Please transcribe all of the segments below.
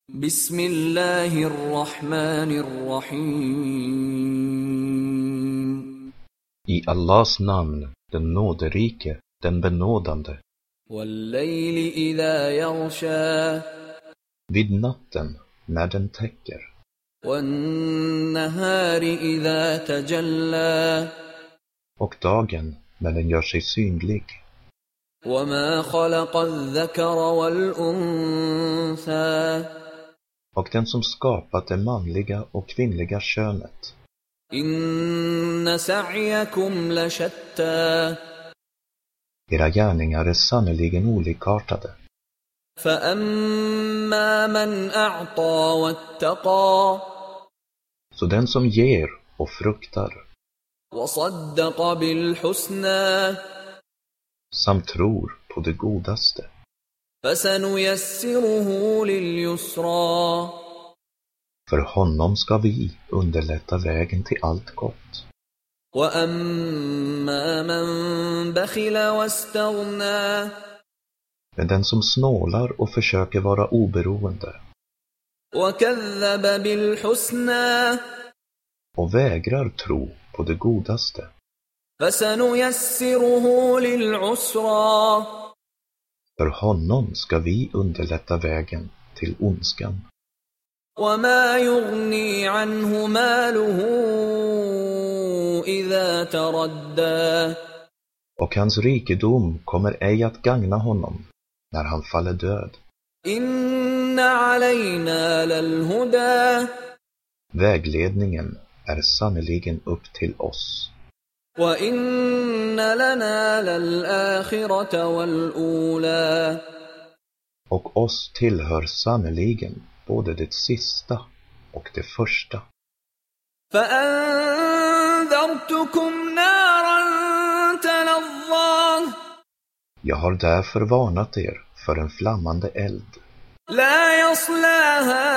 Bismillahirrahmanirrahim. I Allahs namn, den nåderike, den benådande. Wal-layli idha yaghsha. Vid natten, när den täcker. Wan-nahari idha tajalla. Och dagen, när den gör sig synlig. وَمَا خَلَقَ الذَّكَرَ وَالْأُنثَى. Och den som skapat det manliga och kvinnliga könet. إِنَّ سَعْيَكُمْ لَشَتَّى. Era gärningar är sannoliken olikartade. فَأَمَّا مَنْ أَعْطَى وَاتَّقَى. Så den som ger och fruktar. وَصَدَّقَ بِالْحُسْنَى. Samt tror på det godaste. فَسَنُيَسِّرُهُ لِلْيُسْرَى. För honom ska vi underlätta vägen till allt gott. وَأَمَّا مَنْ بَخِلَ وَاسْتَغْنَى. Men den som snålar och försöker vara oberoende. وَكَذَّبَ بِالْحُسْنَى. Och vägrar tro på det godaste. فَسَنُيَسِّرُهُ لِلْعُسْرَى. För honom ska vi underlätta vägen till ondskan. وَمَا يُغْنِي عَنْهُ مَالُهُ إِذَا تَرَدَّى. Och hans rikedom kommer ej att gagna honom när han faller död. إِنَّ عَلَيْنَا لَلْهُدَى. Vägledningen är sannoliken upp till oss. وَإِنَّ لَنَا لَلْآخِرَةَ وَالْأُولَى. Och oss tillhör sannoliken både det sista och det första. فَأَنذَرْتُكُمْ نَارًا تَلَظَّى. Jag har därför varnat er för en flammande eld. لَا يَصْلَاهَا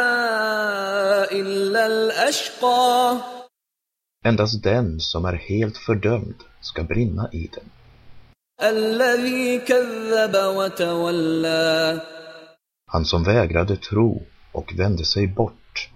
إِلَّا الْأَشْقَى. Endast den som är helt fördömd ska brinna i den. الَّذِي كَذَّبَ وَتَوَلَّى. Han som vägrade tro och vände sig bort.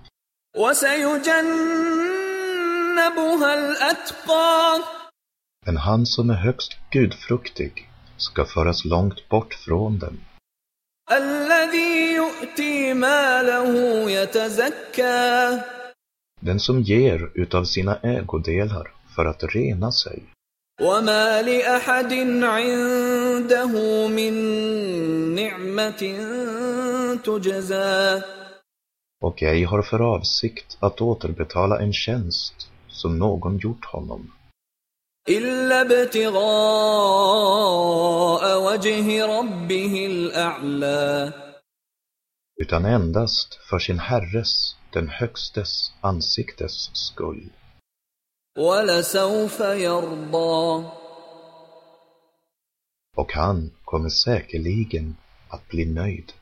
وَسَيُجَنَّبُهَا الْأَتْقَى. Men han som är högst gudfruktig ska föras långt bort från den. الَّذِي يُؤْتِي مَالَهُ يَتَزَكَّى. Den som ger utav sina ägodelar för att rena sig. وَمَا لِأَحَدٍ عِندَهُ مِن نِعْمَةٍ تُجْزَى. Och ej har för avsikt att återbetala en tjänst som någon gjort honom. إِلَّا ابْتِغَاءَ وَجْهِ رَبِّهِ الْأَعْلَى. Utan endast för sin Herres, den högstes ansiktes skull. وَلَسَوْفَ يَرْضَى. Och han kommer säkerligen att bli nöjd.